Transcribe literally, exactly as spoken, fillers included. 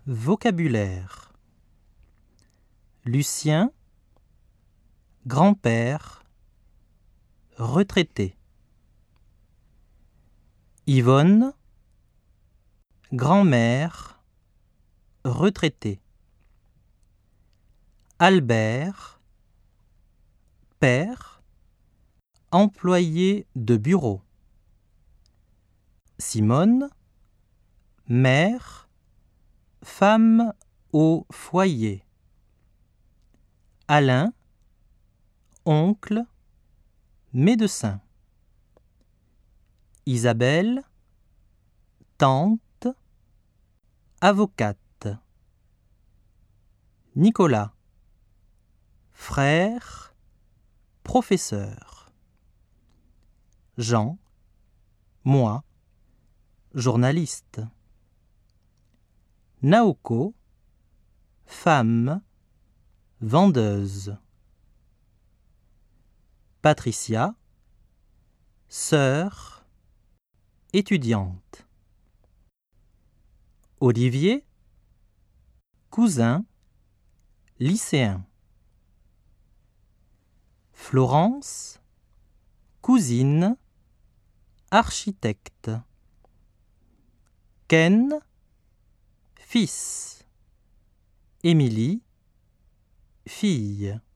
Vocabulaire. Lucien, grand-père, retraité. Yvonne, grand-mère, retraitée. Albert, père, employé de bureau. Simone, mère, femme au foyer. Alain, oncle, médecin. Isabelle, tante, avocate. Nicolas, frère, professeur. Jean, moi, journaliste. Naoko, femme, vendeuse. Patricia, sœur, étudiante. Olivier, cousin, lycéen. Florence, cousine, architecte. Ken, fils. Émilie, fille.